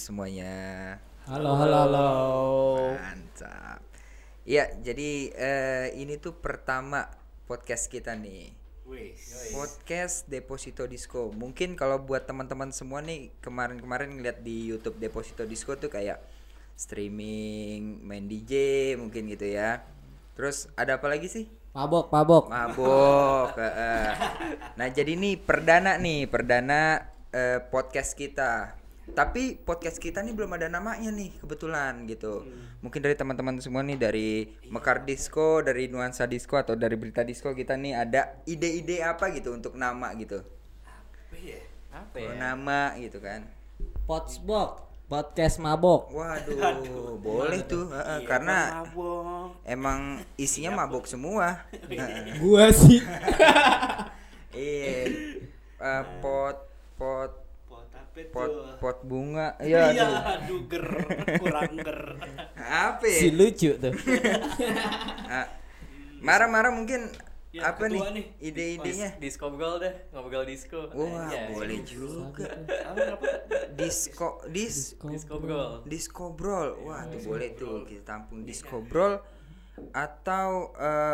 semuanya. Halo, halo, halo. Mantap. Ya, jadi ini tuh pertama podcast kita nih. Podcast Deposito Disco. Mungkin kalau buat teman-teman semua nih kemarin-kemarin ngeliat di YouTube Deposito Disco tuh kayak streaming, main DJ mungkin gitu ya. Terus ada apa lagi sih? Mabok. Mabok. Nah, jadi nih perdana podcast kita. Tapi podcast kita nih belum ada namanya nih kebetulan gitu. Mungkin dari teman-teman semua nih dari Mekar Disco, dari Nuansa Disco atau dari Berita Disco kita nih ada ide-ide apa gitu untuk nama gitu. Apa ya? Nama gitu kan. Potsbok, podcast mabok. Waduh, boleh tuh. Karena mabok. emang isinya mabok semua. Gua sih. Iya. Pot Apa tuh? pot bunga. Iya, Iya. aduh kurang ger. Apa Si ya? lucu tuh. Marah-marah mungkin Ya, apa ketua nih nih. ide-idenya? Disco ngobrol deh, ngobrol disco. Wah, Anjay. boleh juga. Apa? Disco bro. Discobrol. Wah, tuh boleh tuh kita tampung Discobrol atau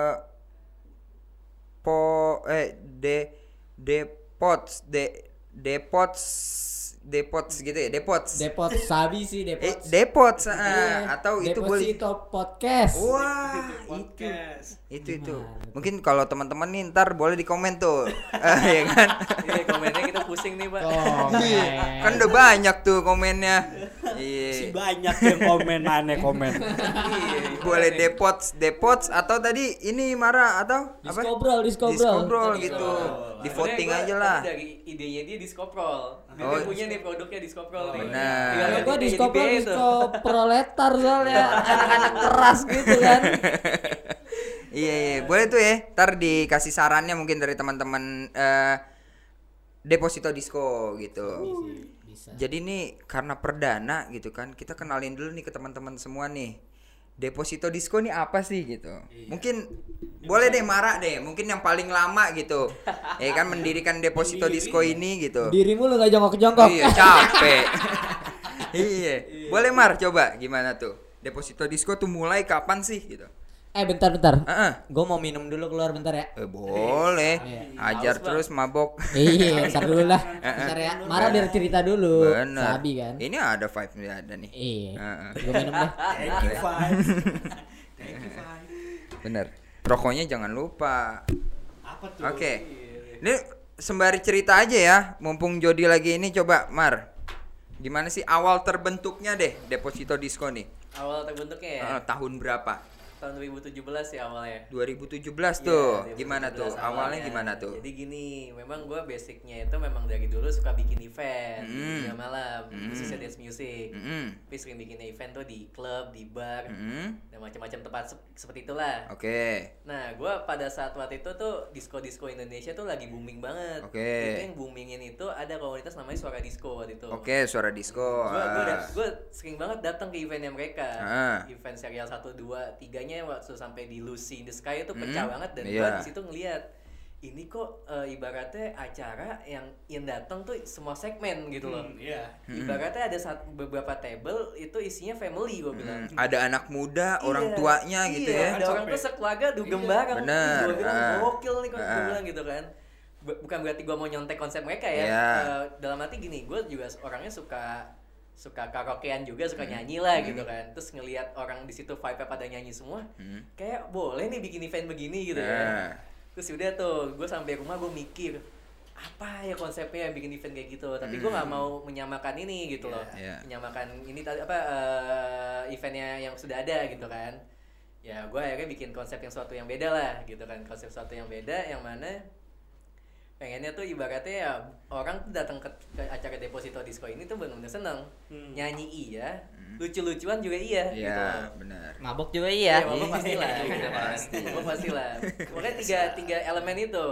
Depots gitu ya, Depots. Depot sabi sih, Depot. Depots Iya, atau itu boleh. Deposito podcast. Wah, Podcast. itu. Mungkin kalau teman-teman nih ntar boleh di komen tuh. Ya kan? Iya, komennya kita pusing nih, Pak. Iya, kan udah banyak tuh komennya. Si Iya. banyak yang komen komen. Iya, Boleh Depots atau tadi ini Mara atau apa? Discobrol gitu. Di voting aja lah. Dari idenya dia Discoprol. Dia Oh. punya nih produknya Discoprol nih. Benar. Tinggal Kalau gua ganti disco jadi biaya tuh. proletar soalnya anak-anak keras gitu kan. Iya, boleh tuh ya. Ntar dikasih sarannya mungkin dari teman-teman Deposito Disco gitu. Bisa. Jadi nih karena perdana gitu kan, kita kenalin dulu nih ke teman-teman semua nih. Deposito Disco nih apa sih gitu. Mungkin boleh deh Mara deh, mungkin yang paling lama gitu. Ya kan mendirikan Deposito Disco ini gitu. Dirimu lu enggak jongkok-jongkok. Iya, capek. Iya. Boleh Mar, coba gimana tuh? Deposito Disco tuh mulai kapan sih gitu? Bentar. Heeh. Gua mau minum dulu keluar bentar ya. Boleh. Iya. Ajar terus mabok. Iya, bentar dulu lah. Bentar ya. Mara biar cerita dulu. Bener. Sabi kan. Ini ada vibe-nya ada nih. Iya. Heeh. Gua minum deh. Thank you, Fai. Bener. Rokoknya jangan lupa. Apa tuh? Oke. Ini sembari cerita aja ya, mumpung Jody lagi ini, coba Mar. Gimana sih awal terbentuknya deh Deposito Disco nih? Awal terbentuknya ya. Tahun berapa? Tahun 2017 ya awalnya. 2017 tuh. Iya, Gimana 2017 tuh? Awalnya gimana tuh? Jadi gini, memang gue basicnya itu memang dari dulu suka bikin event di tengah malam, khususnya dance music. Tapi sering bikin event tuh di klub, di bar, dan macam-macam tempat seperti itulah. Oke. Nah, gue pada saat waktu itu tuh disco Indonesia tuh lagi booming banget. Oke. Itu yang boomingin itu ada komunitas namanya Suara Disco waktu itu. Oke, suara disco. Gue sering banget datang ke eventnya mereka. Event serial 1, 2, 3-nya waktu sampai di Lucy in the Sky itu pecah banget dan gue Iya. di situ ngeliat ini kok ibaratnya acara yang datang tuh semua segmen gitu loh. Iya. Ibaratnya ada beberapa table itu isinya family gue bilang. Ada anak muda, orang Iya, tuanya gitu iya, ya. ada orang tuh sekeluarga dugem bareng. Bener. Gue bilang gokil nih kok gue bilang gitu kan. Bukan berarti gue mau nyontek konsep mereka ya. Iya. Dalam arti gini, gue juga orangnya suka karaokean juga, suka nyanyi lah gitu kan. Terus ngelihat orang di situ vibe pada nyanyi semua, kayak boleh nih bikin event begini gitu kan. Terus udah tuh, gue sampai rumah gue mikir apa ya konsepnya bikin event kayak gitu. Tapi gue nggak mau menyamakan ini gitu loh. Menyamakan ini tadi apa eventnya yang sudah ada gitu kan. Ya gue akhirnya bikin konsep yang suatu yang beda lah gitu kan. Konsep suatu yang beda yang mana pengennya tuh ibaratnya ya orang tuh datang ke acara Deposito Disco ini tuh benar-benar seneng. Nyanyi iya, lucu-lucuan juga iya gitu. Iya, benar. Mabok juga Iya, iya. mabok pasti lah gitu kan. Mabok pasti lah. Pokoknya tiga elemen itu.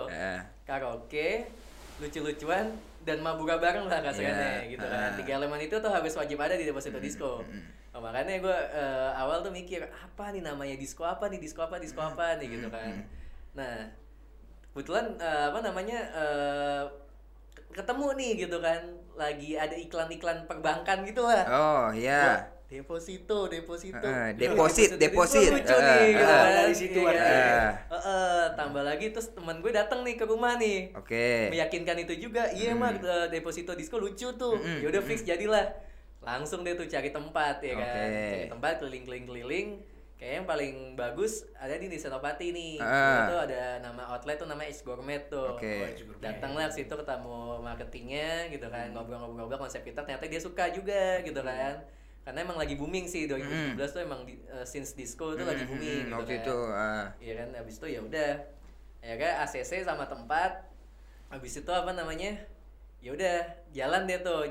Karaoke, lucu-lucuan dan mabura bareng lah kasarnya gitu kan. 3 elemen itu tuh harus wajib ada di Deposito Disco. Nah, makanya gue awal tuh mikir apa nih namanya disco apa nih gitu kan. Nah, kebetulan ketemu nih gitu kan, lagi ada iklan-iklan perbankan gitu lah. Oh iya. Deposito. Deposit. Lucu nih gitu kan. Dari situ ada. Tambah lagi terus teman gue datang nih ke rumah nih. Oke. Meyakinkan itu juga. Iya mah Deposito Disco lucu tuh. Yaudah fix jadilah. Langsung deh tuh cari tempat ya kan. Cari tempat keliling. Kayak yang paling bagus ada di Senopati nih. Itu ada nama outlet tuh namanya Ice Gourmet tuh. Datanglah ke situ ketemu marketingnya gitu kan. Ngobrol-ngobrol konsep kita, ternyata dia suka juga gitu kan. Karena emang lagi booming sih 2017 tuh emang since disco tuh lagi booming gitu waktu kan. itu Iya kan, habis itu ya udah. Ya kan ACC sama tempat. Habis itu apa namanya? Ya udah, jalan deh tuh,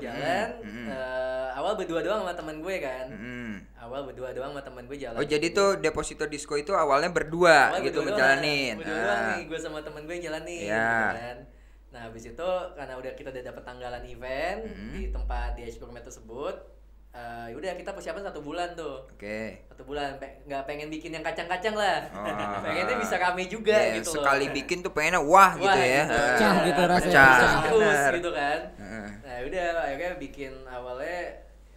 awal berdua doang sama teman gue kan. Awal berdua doang sama teman gue jalan. Oh, jadi tuh Deposito Disco itu awalnya berdua gitu ngejalanin. Berdua doang nih, gue sama teman gue jalanin gitu kan. Nah, habis itu karena kita udah dapet tanggalan event di tempat di Ice Gourmet tersebut. Udah kita persiapan 1 bulan tuh. 1 bulan nggak pengen bikin yang kacang-kacang lah. Pengennya bisa rame juga gitu sekali loh. bikin tuh pengennya wah gitu ya. Pecah gitu rasanya. Pecah. Terus gitu kan. Nah udah akhirnya bikin awalnya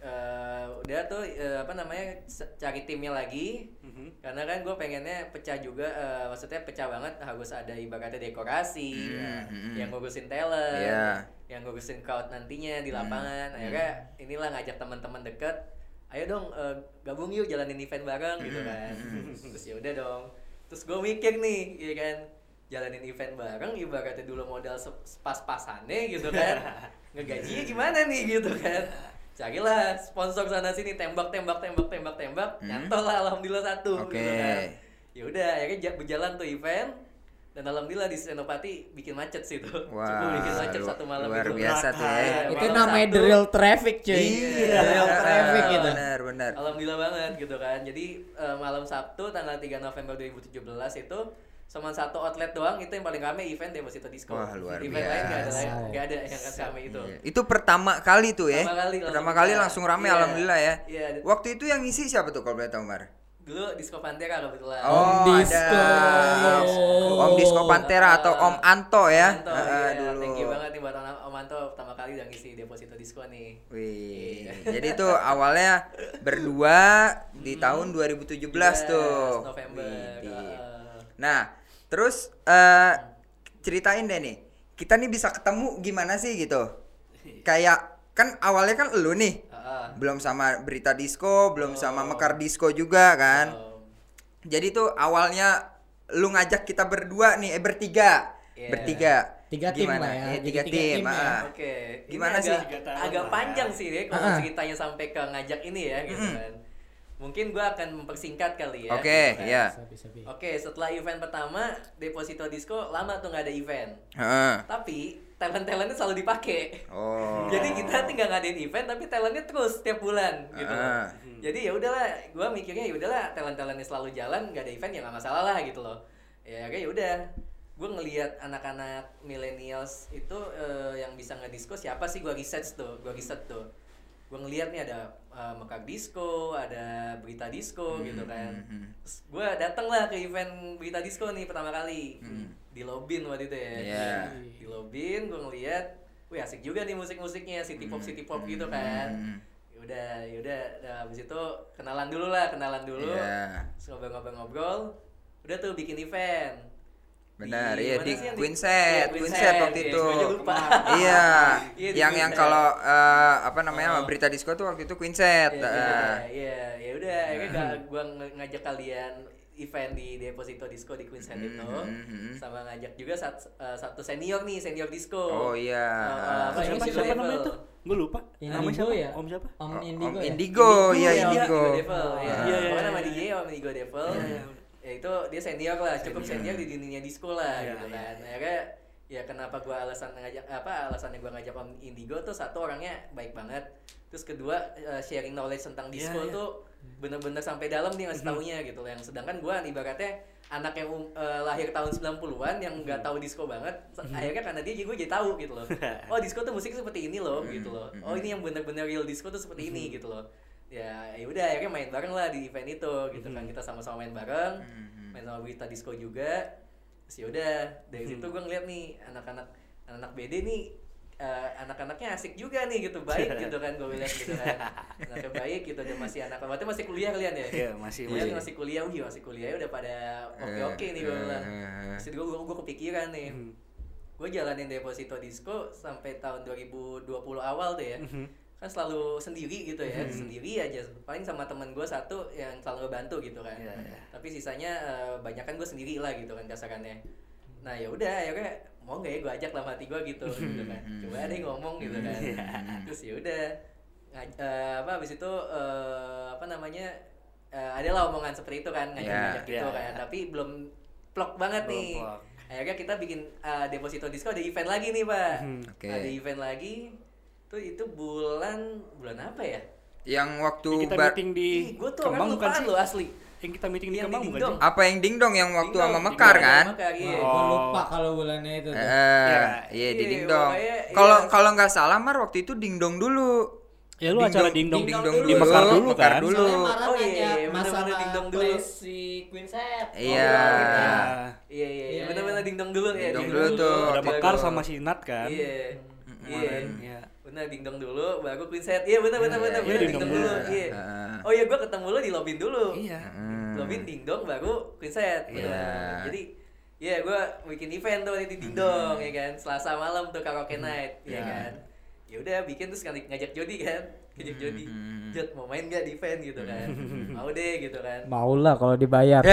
udah tuh cari timnya lagi. Karena kan gue pengennya pecah juga, maksudnya pecah banget, harus ada ibaratnya dekorasi, yang ngurusin talent, yang ngurusin crowd nantinya di lapangan. Akhirnya inilah ngajak teman-teman deket, ayo dong gabung yuk jalanin event bareng gitu kan. Terus ya udah dong. Terus gue mikir nih, ya kan, jalanin event bareng ibaratnya dulu modal pas-pasannya gitu kan. Ngegajinya gimana nih gitu kan. Carilah sponsor sana sini, tembak, nyantol lah alhamdulillah 1 gitu kan. Ya udah akhirnya berjalan tuh event. Dan alhamdulillah di Senopati bikin macet sih tuh. Cukup bikin macet 1 malam luar itu. biasa tuh ya. Itu namanya the real traffic cuy. Iya, real traffic gitu. Benar. Alhamdulillah banget gitu kan. Jadi malam Sabtu tanggal 3 November 2017 itu cuma 1 outlet doang itu yang paling rame event Deposito Disco. Wah, luar event biasa. Gak ada yang rame itu. Itu pertama kali tuh ya. Pertama kali langsung rame alhamdulillah ya. Iya. Waktu itu yang ngisi siapa tuh kalau boleh tahu, Mar? Dulu Disco Pantera kebetulan. Oh, Disco. ada Om Disco Pantera atau Om Anto ya. Anto, iya. Dulu. Thank you banget nih buat Om Anto pertama kali udah ngisi Deposito Disco nih. Wih. Jadi tuh awalnya berdua di tahun 2017 tuh. November. Nah, terus ceritain deh nih. Kita nih bisa ketemu gimana sih gitu? Kayak kan awalnya kan elu nih. Belum sama Berita Disco, belum sama Mekar Disco juga kan. Jadi tuh awalnya lu ngajak kita berdua nih, bertiga. Bertiga. 3 tim lah ya. Iya, 3 tim. Oke. Gimana sih? Agak panjang sih deh kalau ceritanya sampai ke ngajak ini ya gitu kan. Mungkin gue akan mempersingkat kali ya. Oke, iya. Oke, setelah event pertama Deposito Disco lama tuh nggak ada event. Tapi talent-talentnya selalu dipakai. Oh. Jadi kita tinggal ngadain event tapi talentnya terus setiap bulan gitu. Jadi ya udahlah, gue mikirnya ya udahlah talent-talentnya selalu jalan, nggak ada event ya nggak masalah lah gitu loh. Ya kayak udah. Gue ngelihat anak-anak millennials itu yang bisa ngedisco siapa sih, gue riset tuh. Gue ngelihat nih ada Mekar Disco, ada Berita Disco gitu kan. Terus gue datang lah ke event Berita Disco nih pertama kali di Lobin waktu itu ya. Di Lobin gue ngelihat, wih asik juga nih musik-musiknya, city pop gitu kan. Yaudah, habis itu kenalan dulu. Terus ngobrol-ngobrol, udah tuh bikin event. Benar, iya di Queenset waktu itu. Iya, yang kalau Berita Disco tuh waktu itu Queenset. Iya, ya udah, akhirnya gua ngajak kalian event di Deposito Disco di Queenset itu, sama ngajak juga satu senior disco. Oh iya. Siapa namanya tuh? Gue lupa. Indigo ya? Om siapa? Om Indigo. Indigo ya? Indigo. Iya. Pokoknya nama DJ Om Indigo Devil. Ya itu dia senior lah, cukup senior di dunia disco lah gitu kan. Akhirnya ya kenapa alasannya gua ngajak Om Indigo tuh, satu orangnya baik banget. Terus kedua sharing knowledge tentang disco tuh bener-bener sampai dalam dia ngasih taunya gitu. Yang sedangkan gua ibaratnya anak yang lahir tahun 90-an yang nggak tahu disco banget, akhirnya karena dia gue jadi tahu gitu loh. Oh, disco tuh musik seperti ini loh gitu loh. Oh, ini yang bener-bener real disco tuh seperti ini gitu loh. Ya udah akhirnya main bareng lah di event itu gitu kan. Kita sama-sama main bareng, main sama Berita Disco juga. Terus ya udah dari situ gue ngeliat nih anak-anak BD nih anak-anaknya asik juga nih gitu, baik gitu kan gue lihat gitu kan. Anaknya baik gitu, dia masih berarti masih kuliah kalian ya? Iya, masih kuliah. Masih kuliah udah pada oke nih gue bilang. Terus gue kepikiran nih. Gue jalanin Deposito Disco sampai tahun 2020 awal tuh ya. Kan selalu sendiri gitu ya, sendiri aja, paling sama temen gue satu yang selalu ngebantu gitu kan. Tapi sisanya banyak kan gue sendiri lah gitu kan kasarannya. Nah ya udah ya kayak mau nggak ya gue ajak lah hati gue gitu kan, coba deh ngomong gitu kan. Terus ya udah habis itu adalah omongan seperti itu kan, ngajak gitu kan, tapi belum plok banget nih. Akhirnya kita bikin Deposito Disco, ada event lagi nih Pak. Ada event lagi. Itu bulan apa ya? Yang waktu kita meeting di gue tuh orang lupaan lo asli. Yang kita meeting di Kemang bukan sih? Apa yang dingdong yang waktu sama Mekar kan? Gue lupa kalau bulannya itu. Iya di dingdong. Kalau nggak salah waktu itu dingdong dulu. Ya lu acara dingdong di Mekar dulu kan? Oh iya, masalah dingdong dulu si Queen Set. Iya, benar-benar dingdong dulu ya. Dingdong dulu tuh. Ada Mekar sama si Nat kan? Iya. Benar dingdong dulu, baru Queen Set. Iya benar dingdong dulu. Iya. Oh iya, gue ketemu lo di lobby dulu. Iya. Lobby dingdong baru Queen Set. Jadi ya gue bikin event tuh di dingdong ya kan. Selasa malam tuh karaoke night ya kan. Ya udah bikin terus ngajak Jody kan. Ngajak Jody. Jod mau main enggak di event gitu kan. Mau deh gitu kan. Mau lah kalau dibayar.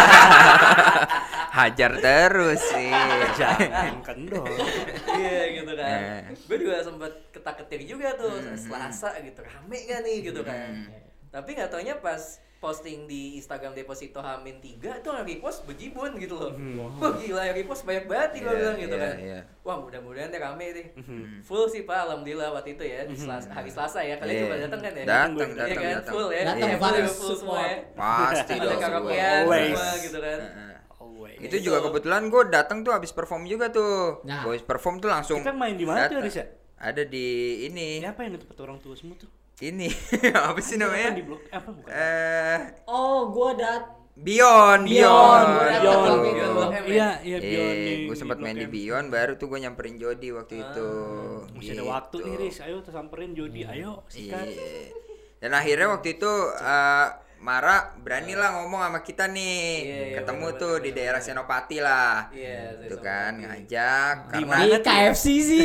Hajar terus sih. Jangan kendor. Iya gitu kan. Gue juga sempat ketak-ketik juga tuh Selasa gitu, rame kan nih gitu kan. Tapi nggak taunya pas posting di Instagram Deposito H-3 itu yang repost bejibun gitu loh. Wah gila, yang repost banyak banget nih gue bilang gitu kan. Wah mudah-mudahan deh rame deh. Full sih Pak, alhamdulillah waktu itu ya, di hari Selasa ya. Kalian juga datang kan ya? Datang. Full ya. Datang full semua ya. Pasti ada dong. karaokean semua gitu kan. Itu juga kebetulan gue datang tuh habis perform juga tuh. Gue habis perform tuh langsung. Kita main di mana tuh Aris ya? Ada di ini. Siapa yang tempat orang tua semua tuh? Ini apa sih namanya? Di blok apa bukan? Gua Beyond. Iya Beyond. Gue sempat main di Beyond, baru tuh gue nyamperin Jody waktu itu. Masih ada waktu nih Riz, ayo samperin Jody, ayo sikat. Dan akhirnya waktu itu Mara beranilah ngomong sama kita nih, ketemu tuh di daerah Senopati lah, itu kan ngajak. Di KFC sih.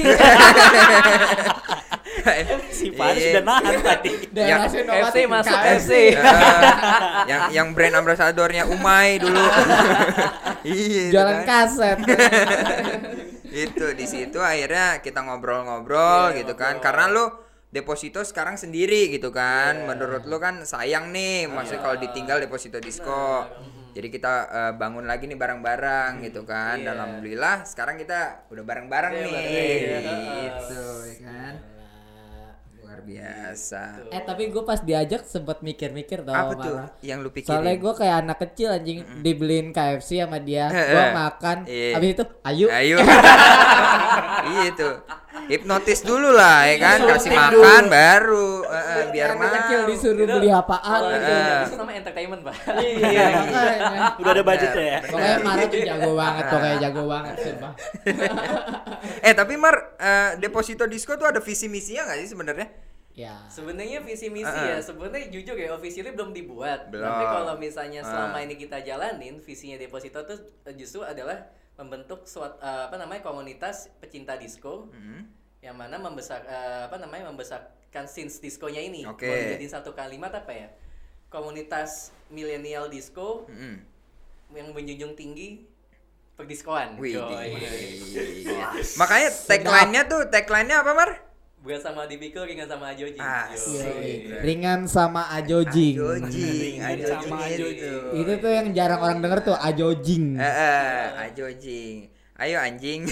Si Faris sudah nahan tadi. Daerah Senopati masuk KFC. Yang brand ambassadornya Umay dulu. Iya. Jualan kaset. Itu di situ akhirnya kita ngobrol-ngobrol gitu kan, karena lu Deposito sekarang sendiri gitu kan. Menurut lu kan sayang nih maksudnya kalau ditinggal Deposito Disco. Jadi kita bangun lagi nih bareng-bareng gitu kan. Dan alhamdulillah sekarang kita udah bareng-bareng nih. Gitu ya kan. Luar biasa. Tapi gue pas diajak sempat mikir-mikir tau. Apa tuh yang lu pikirin? Soalnya gue kayak anak kecil anjing, dibeliin KFC sama dia, gue makan, habis itu ayo. Iya tuh. Hipnotis dulu lah ya kan, kasih makan baru biar anak kecil disuruh beli apaan gitu. Itu namanya entertainment, Pak. Iya, udah ada budgetnya ya. Pokoknya Mar tuh jago banget, jago banget sumpah. Tapi Mar, Deposito Disco tuh ada visi misinya enggak sih sebenarnya? Ya. Sebenarnya visi misi ya, sebenarnya jujur ya officially belum dibuat. Tapi kalau misalnya selama ini kita jalanin, visinya Deposito tuh justru adalah membentuk komunitas pecinta disco yang mana membesarkan scenes diskonya ini. Mau dijadiin satu kalimat apa ya? Komunitas milenial disco yang menjunjung tinggi perdiskoan. Makanya tagline-nya apa Mar? Bukan sama dipikul, ringan sama ajojing. Ringan sama ajojing. Itu tuh yang jarang orang denger tuh, ajojing. Ajojing. Ayo anjing.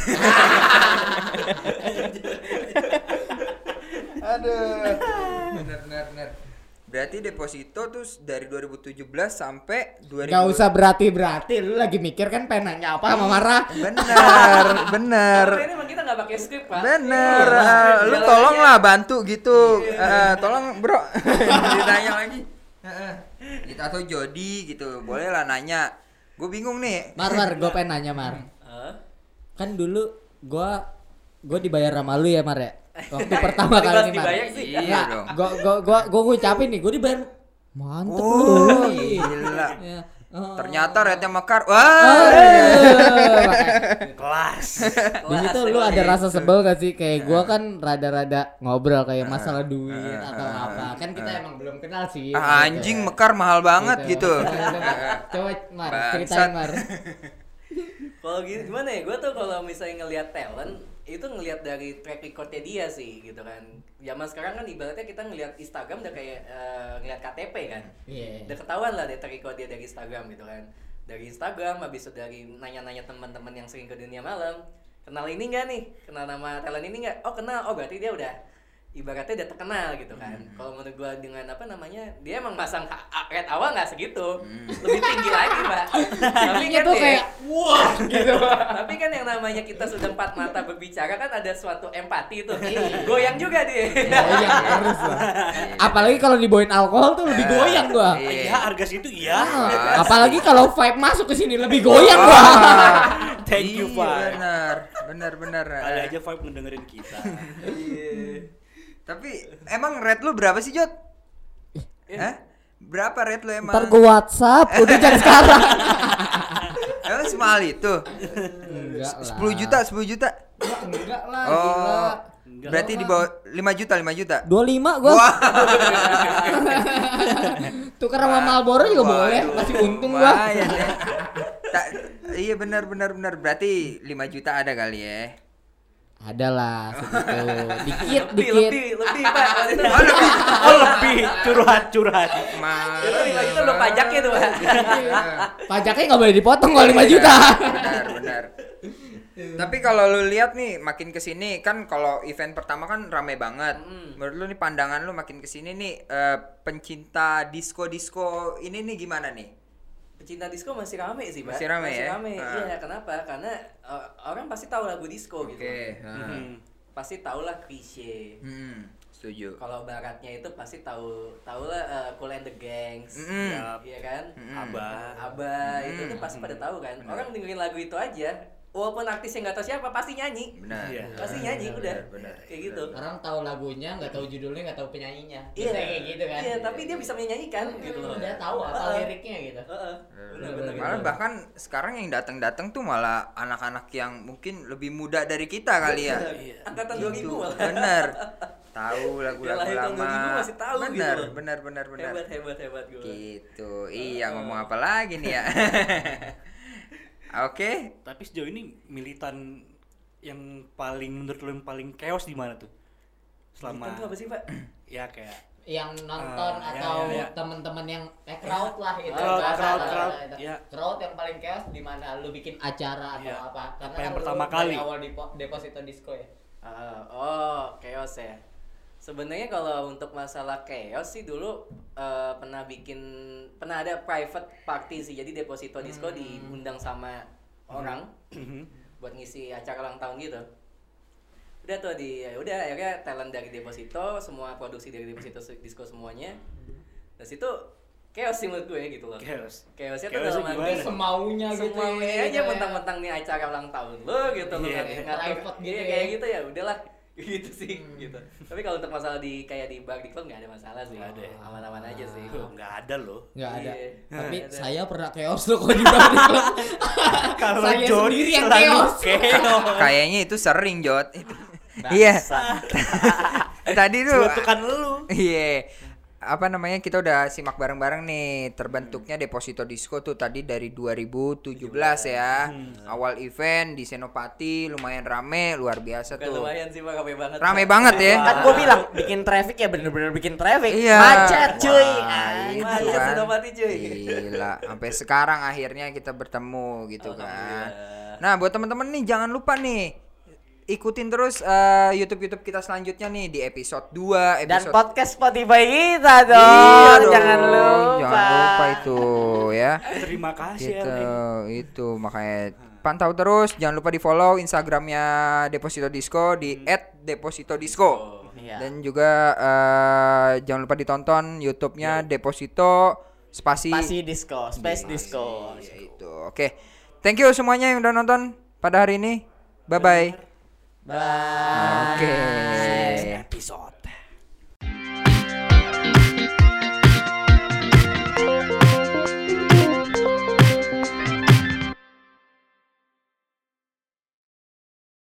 Aduh. Bener. Berarti Deposito tuh dari 2017 sampai 2000. Gak usah berarti lu lagi mikir kan pengen nanya apa sama Mara. Bener. Ini emang kita nggak pakai skrip Pak. Bener. Lu tolonglah bantu gitu. Tolong bro. Ditanya lagi. Gitu atau Jody gitu. Boleh lah nanya. Gue bingung nih. Mar, gue pengen nanya Mar. Kan dulu gue gue dibayar sama lu ya Mar ya. Waktu pertama kali nih Mar. Iya dong. Gue ngucapin nih, gue dibayar. Mantep lu. Gila. Ya. Ternyata rate-nya mekar. Wah. Kelas. Di situ lu ada rasa sebel gak sih? Kayak gue kan rada-rada ngobrol kayak masalah duit atau apa. Kan kita emang belum kenal sih. Anjing gitu. Mekar mahal banget gitu. Coba Mar, ceritain Mar. Kalau gimana ya? Gue tuh kalau misalnya ngelihat talent itu ngelihat dari track recordnya dia sih gitu kan. Zaman sekarang kan ibaratnya kita ngelihat Instagram udah kayak ngelihat KTP kan. Udah ketahuan lah dari track record dia dari Instagram gitu kan. Dari Instagram habis itu dari nanya-nanya teman-teman yang sering ke dunia malam, kenal ini enggak nih? Kenal nama talent ini enggak? Oh kenal. Oh berarti dia udah ibaratnya udah terkenal gitu kan. Kalau menurut gua dengan apa namanya, dia emang masang rate awal nggak segitu, lebih tinggi lagi Pak. Tapi kan tuh kayak wah gitu. Tapi kan yang namanya kita sudah empat mata berbicara kan ada suatu empati tuh. Goyang juga dia. Goyang harus lah. Apalagi kalau dibawain alkohol tuh lebih goyang gua. Iya harga situ iya. Apalagi kalau vibe masuk ke sini lebih goyang gua. Thank you Pak. Benar. Kali aja vibe ngedengerin kita. Tapi emang rate lu berapa sih Jot? Hah? Berapa rate lu emang? Ntar gue WhatsApp, udah jangan sekarang. Emang semahal itu? Enggak lah. 10 juta? Enggak lah, gila. Berarti di bawah 5 juta? 25 gua. Wah. Tukar sama Marlboro juga boleh, masih untung gua. Iya benar. Berarti 5 juta ada kali ya? Ada lah segitu. Dikit. Lebih Pak. Lebih curhat. Itu 5 juta belum pajaknya tuh Pak. Pajaknya nggak boleh dipotong kalau 5 juta. Benar. Tapi kalau lu lihat nih makin kesini kan kalau event pertama kan rame banget. Menurut lu nih pandangan lu makin kesini nih pencinta disco ini nih gimana nih? Pecinta disco masih rame sih, Pak. Masih rame. Iya, kenapa? Karena orang pasti tahu lagu disco gitu. Pasti tahu lah Chrisye. Setuju. Kalau baratnya itu pasti tahu lah Kool and the Gangs. Iya kan? Abah itu tuh pasti pada tahu kan. Orang dengerin lagu itu aja. Walaupun artisnya nggak tahu siapa pasti nyanyi. Pasti nyanyi udah. Kayak gitu. Orang tahu lagunya, nggak tahu judulnya, nggak tahu penyanyinya. Iya kayak gitu kan. Iya, tapi dia bisa menyanyikan gitu loh. Udah tahu apa liriknya gitu. Malah bahkan sekarang yang datang tuh malah anak-anak yang mungkin lebih muda dari kita kali ya. Angkatan 2000 malah. Bener. Tahu lagu-lagu lama. Masih tahu bener. Hebat gue. Gitu. Iya, ngomong apa lagi nih ya? Oke. Tapi sejauh ini militan yang paling menurut lo yang paling chaos di mana tuh? Selama militan tuh apa sih, Pak? Ya kayak yang nonton atau teman-teman yang crowd lah itu. Crowd yang paling chaos di mana lu bikin acara atau apa? Karena yang pertama kali awal di Deposito Disco ya. Chaos ya. Sebenarnya kalau untuk masalah chaos sih dulu pernah ada private party sih. Jadi Deposito Disco diundang sama orang buat ngisi acara ulang tahun gitu. Udah tuh akhirnya talent dari Deposito, semua produksi dari Deposito Disco semuanya. Dari situ chaos sih menurut gue gitu loh. Chaosnya tuh dalam arti semaunya gitu. Semaunya aja mentang-mentang nih acara ulang tahun lo gitu loh. Private gitu kayak gitu ya udahlah. Gitu sih gitu. Tapi kalau untuk masalah di bar di klub nggak ada masalah sih. Aman-aman aja sih. Nggak ada loh. Nggak ada. Tapi saya pernah chaos loh kalau di bar di klub. Kalau saya Jod sendiri yang chaos. Kayaknya itu sering Jod. Iya. Tadi tuh. Suatukan lu. Iya. Apa namanya, kita udah simak bareng-bareng nih terbentuknya Deposito Disco tuh tadi dari 2017 ya. Awal event di Senopati lumayan rame, luar biasa tuh. Lumayan sih Pak, rame banget ya. Kan gue bilang bikin traffic ya bener-bener bikin traffic. Iya. Macet cuy. Itu kan. Senopati cuy. Gila, sampai sekarang akhirnya kita bertemu gitu kan. Nah, buat teman-teman nih jangan lupa nih ikutin terus YouTube kita selanjutnya nih di episode 2 dan podcast Spotify kita dong. Jangan lupa itu ya. Terima kasih gitu, itu makanya pantau terus, jangan lupa di follow Instagramnya Deposito Disco di @depositodisco. Dan juga jangan lupa ditonton YouTube-nya Deposito Space Disco. Itu. Oke. Thank you semuanya yang udah nonton pada hari ini. Bye bye. Bye.